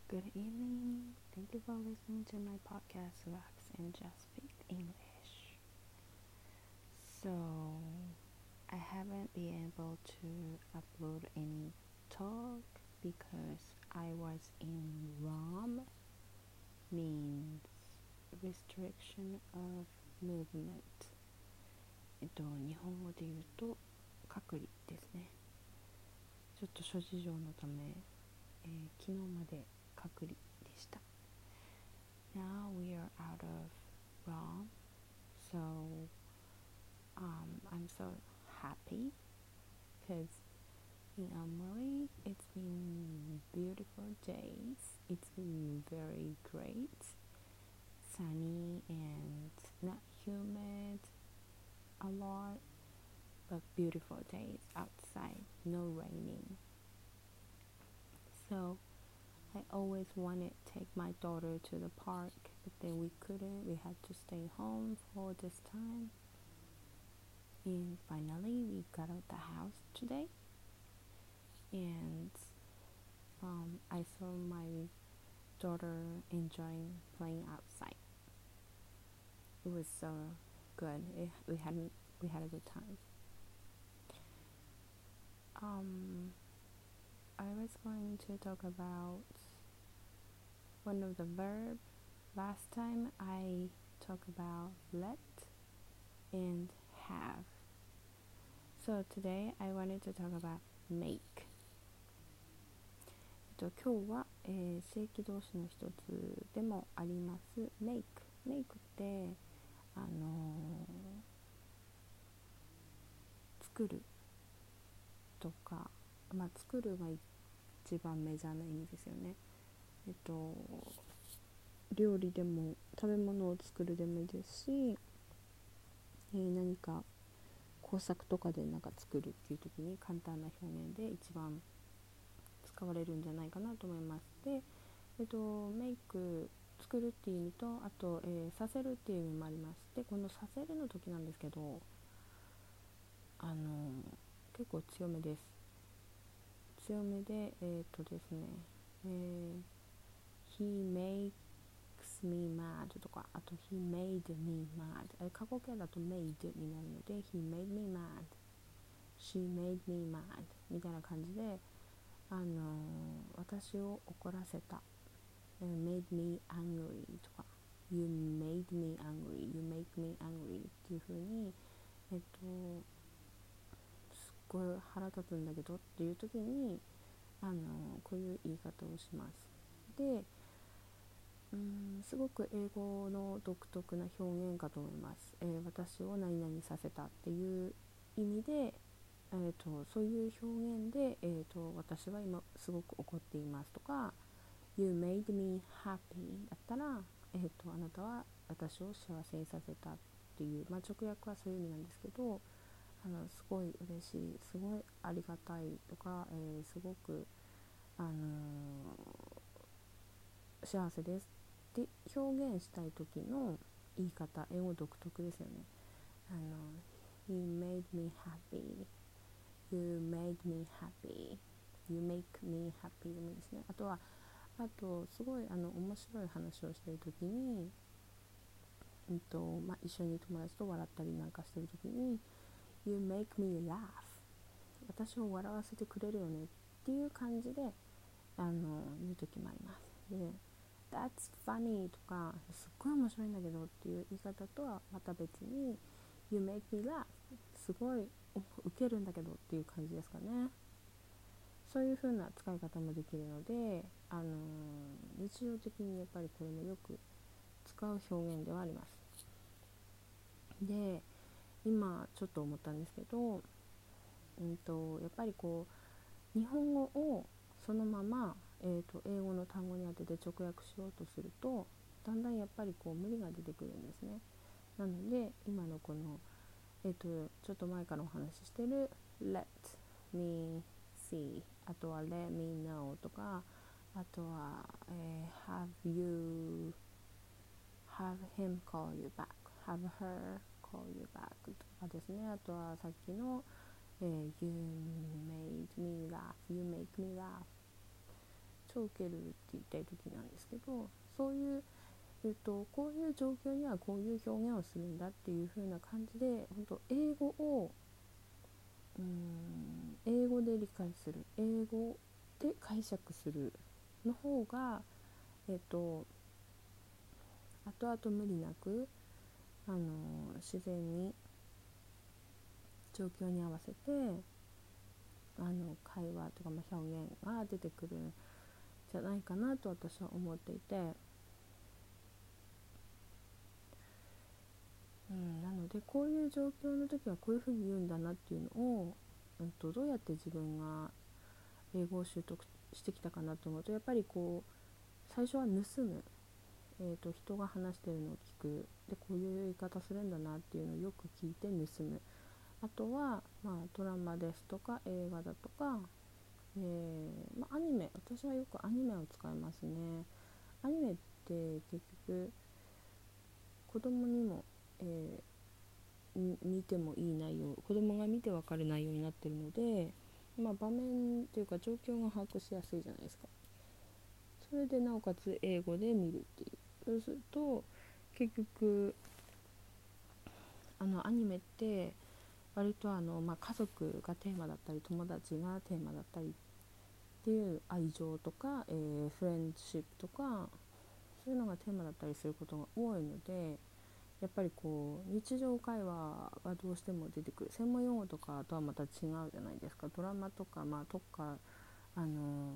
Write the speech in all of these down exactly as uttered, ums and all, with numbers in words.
Good evening. Thank you for listening to my podcast, Relax and Just Speak English. So, I haven't been able to upload any talk because I was in ROM, means restriction of movement. えっと、日本語で言うと隔離ですね。ちょっと諸事情のため、えー、昨日まで隔離でした。Now we are out of ROM, so um, I'm so happy because in Amori it's been beautiful days. It's been very great, sunny and not humid a lot, but beautiful days outside, no raining. So I always wanted to take my daughter to the park, but then we couldn't. We had to stay home for this time. And finally, we got out the house today. And um, I saw my daughter enjoying playing outside. It was so good. It, we had we had a good time. Um, I was going to talk about one of the verbs. Last time I talked about let and have. So today I wanted to talk about make. えっと、今日は、えー、正規動詞の一つでもあります make。make ってあのー、作るとか、まあ作るが一番メジャーな意味ですよね。えっと料理でも食べ物を作るでもいいですし、えー、何か工作とかでなんか作るっていう時に簡単な表現で一番使われるんじゃないかなと思います。で、えっと、メイク作るっていう意味と、あと、えー、させるっていう意味もあります。で、このさせるの時なんですけど、あのー、結構強めです。強めで、えー、っとですね、えー、He makes me mad とか、あと He made me mad。過去形だと made になるので He made me mad。She made me mad みたいな感じで、あのー、私を怒らせた、uh, made me angry とか You made me angry You make me angry っていう風に、えっとすっごい腹立つんだけどっていう時に、あのー、こういう言い方をします。で、うーんすごく英語の独特な表現かと思います。えー、私を何々させたっていう意味で、えー、とそういう表現で、えー、と私は今すごく怒っていますとか You made me happy だったら、えー、とあなたは私を幸せにさせたっていう、まあ、直訳はそういう意味なんですけど、あのすごい嬉しい、すごいありがたいとか、えー、すごく、あのー、幸せですって表現したい時の言い方、英語独特ですよね。あの He made me happy You made me happy You make me happy でもいいですね。あとはあとすごいあの面白い話をしている時に、うんとまあ、一緒に友達と笑ったりなんかしている時に You make me laugh 私を笑わせてくれるよねっていう感じであの言う時もあります。で That's funny とかすっごい面白いんだけどっていう言い方とはまた別に You make me laugh すごいウケるんだけどっていう感じですかね。そういう風な使い方もできるので、あのー、日常的にやっぱりこれもよく使う表現ではあります。で、今ちょっと思ったんですけど、うんと、やっぱりこう日本語をそのまま、えーと、英語の単語に当てて直訳しようとするとだんだんやっぱりこう無理が出てくるんですね。なので今のこの、えーと、ちょっと前からお話ししてる Let me see あとは Let me know とか、あとは、えー、Have you Have him call you back Have her call you back とかですね。あとはさっきの、えー、You made me laugh You make me laugh ちを受けるって言いたい時なんですけど、そういう、えっと、こういう状況にはこういう表現をするんだっていう風な感じで、本当英語をうーん英語で理解する、英語で解釈するの方が、えっと後々無理なく、あの自然に状況に合わせてあの会話とか、まあ、表現が出てくるんじゃないかなと私は思っていて、うん、なのでこういう状況の時はこういうふうに言うんだなっていうのを、うんと、どうやって自分が英語を習得してきたかなと思うと、やっぱりこう最初は盗む、えーと、人が話してるのを聞く、でこういう言い方するんだなっていうのをよく聞いて盗む。あとは、まあ、ドラマですとか映画だとか、えーまあ、アニメ、私はよくアニメを使いますね。アニメって結局子供にも、えー、見てもいい内容、子供が見てわかる内容になってるので、まあ、場面というか状況が把握しやすいじゃないですか。それでなおかつ英語で見るっていう、そうすると結局あのアニメって割とあの、まあ、家族がテーマだったり友達がテーマだったりっていう愛情とか、えー、フレンドシップとかそういうのがテーマだったりすることが多いので、やっぱりこう日常会話がどうしても出てくる。専門用語とかとはまた違うじゃないですか。ドラマとか、まあ、特化あの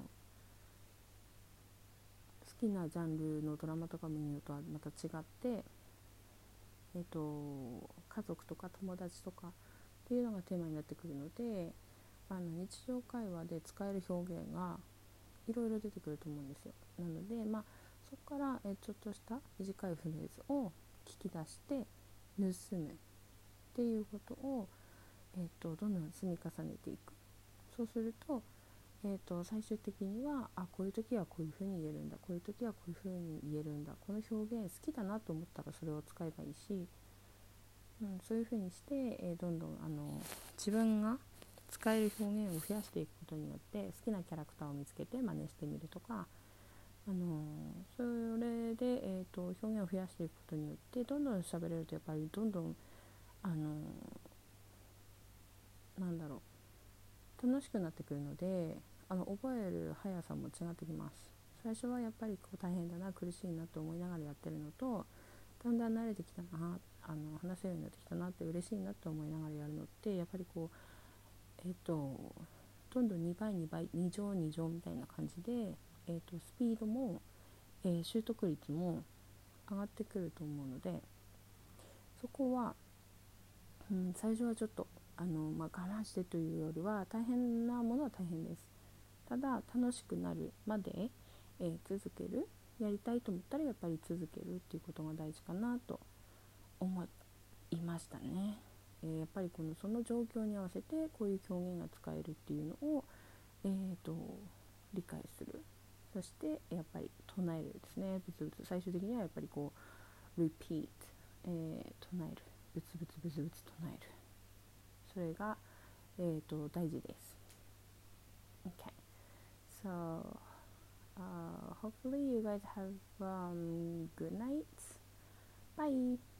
好きなジャンルのドラマとか見るのとはまた違って、えーと、家族とか友達とかっていうのがテーマになってくるので、あの日常会話で使える表現がいろいろ出てくると思うんですよ。なので、まあ、そこから、えちょっとした短いフレーズを聞き出して盗むっていうことを、えー、とどんどん積み重ねていく。そうすると、えー、と最終的にはあこういう時はこういうふうに言えるんだ、こういう時はこういうふうに言えるんだ、この表現好きだなと思ったらそれを使えばいいし、うん、そういうふうにして、えー、どんどんあの自分が使える表現を増やしていくことによって好きなキャラクターを見つけて真似してみるとか、あのそれで、えー、と表現を増やしていくことによってどんどん喋れるとやっぱりどんどんあのなんだろう楽しくなってくるので、あの覚える速さも違ってきます。最初はやっぱりこう大変だな苦しいなと思いながらやってるのと、だんだん慣れてきたな、あの話せるようになってきたなって嬉しいなって思いながらやるのって、やっぱりこうえっ、ー、とどんどんにばいにばいに乗に乗みたいな感じで、えー、とスピードも、えー、習得率も上がってくると思うので、そこは、うん、最初はちょっとあの、まあ、我慢してというよりは大変なものは大変です。ただ楽しくなるまで、えー、続ける、やりたいと思ったらやっぱり続けるっていうことが大事かなと思いましたね。えー、やっぱりこのその状況に合わせてこういう表現が使えるっていうのを、えー、と理解する。そしてやっぱり唱えるですね。ブツブツ最終的にはやっぱりこう repeat、えー、唱える、ブツブツブツブツ唱える、それが、えー、と大事です。 OK, so uh, hopefully you guys have um, good night. Bye.